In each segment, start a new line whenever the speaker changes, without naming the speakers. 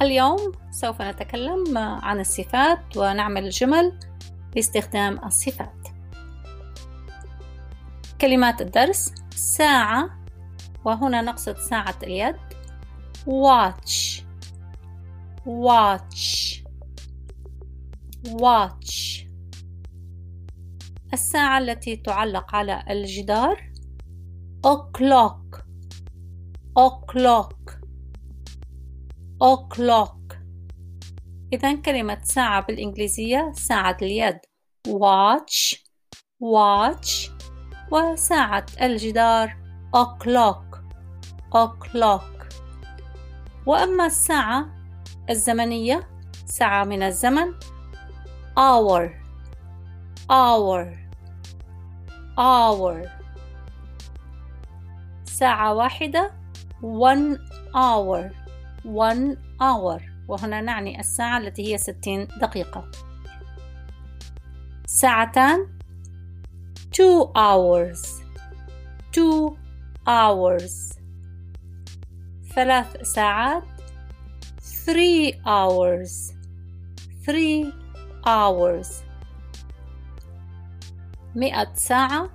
اليوم سوف نتكلم عن الصفات ونعمل جمل باستخدام الصفات. كلمات الدرس: ساعة، وهنا نقصد ساعة اليد. watch watch watch. الساعة التي تعلق على الجدار: o'clock o'clock o'clock. إذن كلمة ساعة بالإنجليزية ساعة اليد watch watch، وساعة الجدار o'clock o'clock. وأما الساعة الزمنية، ساعة من الزمن: hour hour hour. ساعة واحدة: one hour one hour، وهنا نعني الساعة التي هي 60 دقيقة. ساعتان: two hours two hours. 3 ساعات: three hours three hours. 100 ساعة: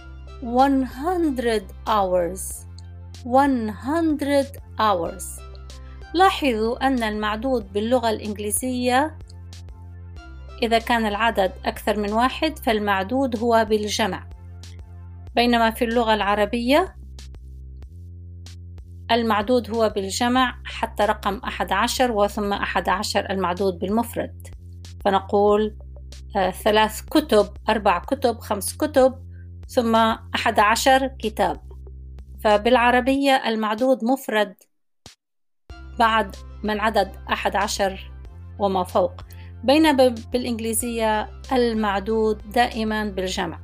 100 hours 100 hours. لاحظوا أن المعدود باللغة الإنجليزية إذا كان العدد أكثر من 1 فالمعدود هو بالجمع، بينما في اللغة العربية المعدود هو بالجمع حتى رقم 11 وثم 11 المعدود بالمفرد، فنقول 3 كتب 4 كتب 5 كتب ثم 11 كتاب. فبالعربية المعدود مفرد بعد من عدد 11 وما فوق، بينما بالإنجليزية المعدود دائما بالجمع.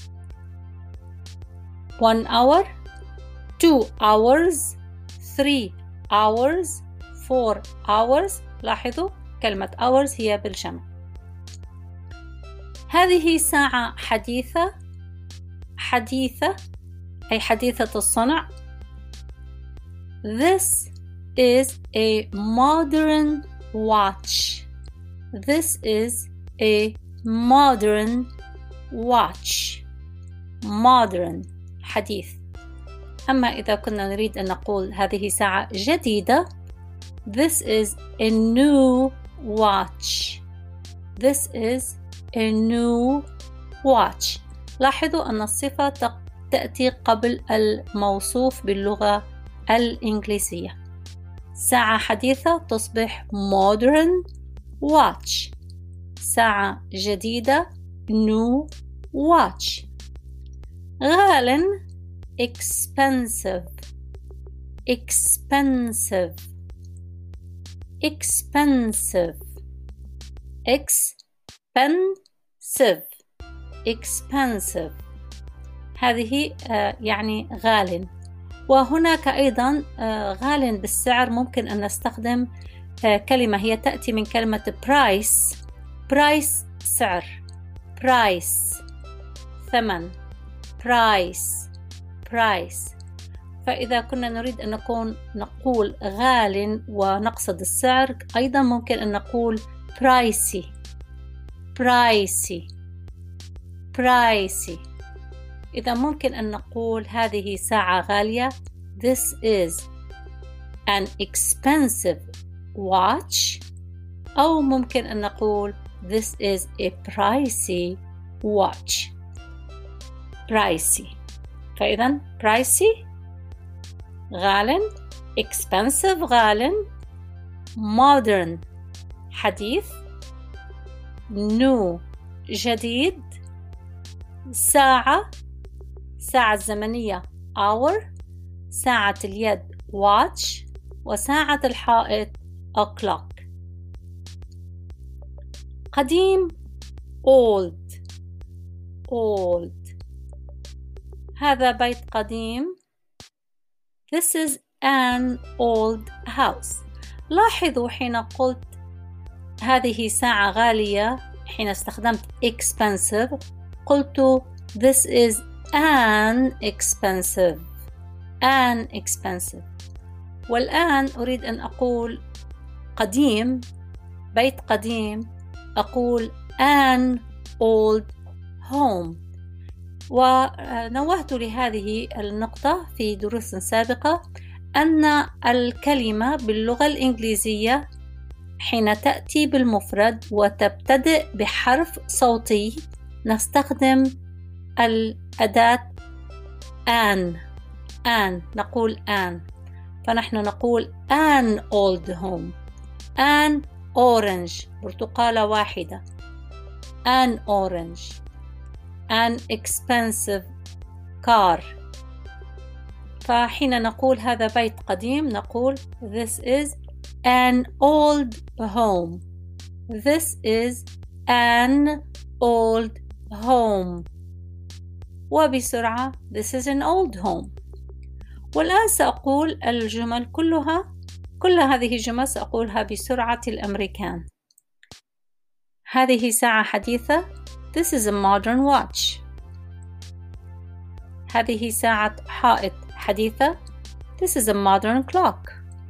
1 hour 2 hours 3 hours 4 hours. لاحظوا كلمة hours هي بالجمع. هذه ساعة حديثة أي حديثة الصنع. This is a modern watch. This is a modern watch. modern حديث. أما إذا كنا نريد أن نقول هذه ساعة جديدة: This is a new watch. This is a new watch. لاحظوا أن الصفة تأتي قبل الموصوف باللغة الإنجليزية. ساعة حديثة تصبح modern watch. ساعة جديدة new watch. غال expensive expensive expensive expensive expensive. هذه يعني غال. وهناك أيضا غال بالسعر ممكن أن نستخدم كلمة هي تأتي من كلمة price. price سعر، price ثمن، price price. فإذا كنا نريد أن نقول غال ونقصد السعر، أيضا ممكن أن نقول pricey pricey pricey. إذا ممكن أن نقول هذه ساعة غالية: This is an expensive watch، أو ممكن أن نقول This is a pricey watch. pricey. فإذا pricey غال، expensive غال، modern حديث، new جديد، ساعة الزمنية hour، ساعة اليد watch، وساعة الحائط o'clock. قديم old هذا بيت قديم. This is an old house. لاحظوا حين قلت هذه ساعة غالية، حين استخدمت expensive قلت this is an expensive. والآن أريد أن أقول قديم، بيت قديم، أقول an old home. ونوهت لهذه النقطة في دروس سابقة أن الكلمة باللغة الإنجليزية حين تأتي بالمفرد وتبتدئ بحرف صوتي نستخدم الأداة an. نقول an، فنحن نقول an old home، an orange برتقالة واحدة، an orange، an expensive car. فحين نقول هذا بيت قديم نقول this is an old home. This is an old home. وبسرعة this is an old home. والآن سأقول الجمل كل هذه الجمل سأقولها بسرعة الأمريكان. هذه ساعة حديثة. This is a modern watch. هذه ساعة حائط حديثة. This is a modern clock.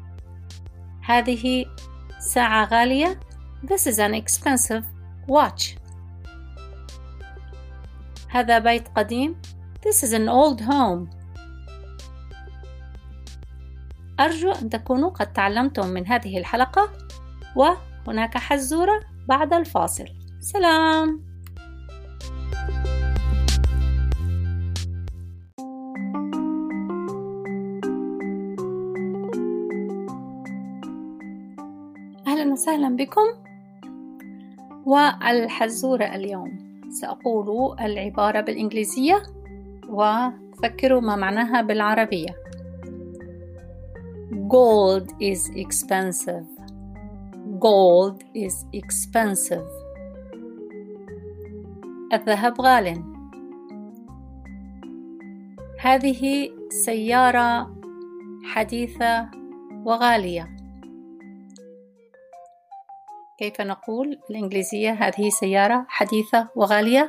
هذه ساعة غالية. This is an expensive watch. هذا بيت قديم. This is an old home. أرجو أن تكونوا قد تعلمتم من هذه الحلقة، وهناك حزورة بعد الفاصل. سلام. أهلا وسهلا بكم. والحزورة اليوم سأقول العبارة بالإنجليزية وفكروا ما معناها بالعربية. Gold is expensive. Gold is expensive. الذهب غال. هذه سيارة حديثة وغالية. كيف نقول بالإنجليزية هذه سيارة حديثة وغالية؟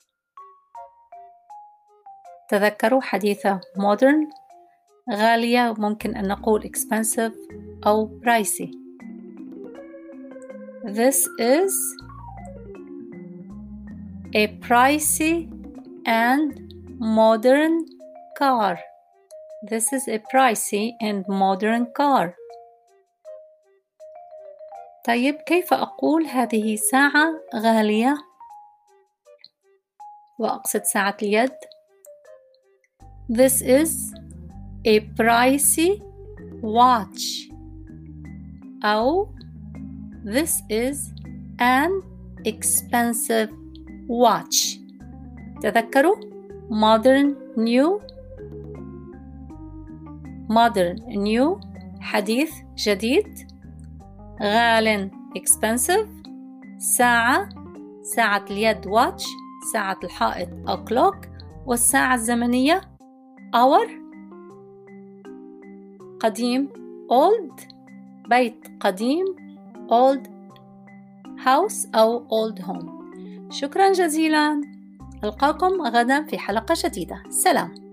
تذكروا حديثة modern، غالية ممكن أن نقول expensive أو pricey. This is a pricey and modern car. This is a pricey and modern car. طيب كيف أقول هذه ساعة غالية وأقصد ساعة اليد؟ This is a pricey watch. أو this is an expensive watch. تذكروا modern new حديث جديد، غال expensive، ساعة اليد watch، ساعة الحائط clock، والساعة الزمنية hour. قديم old، بيت قديم old house أو old home. شكرا جزيلا، ألقاكم غدا في حلقة جديدة. سلام.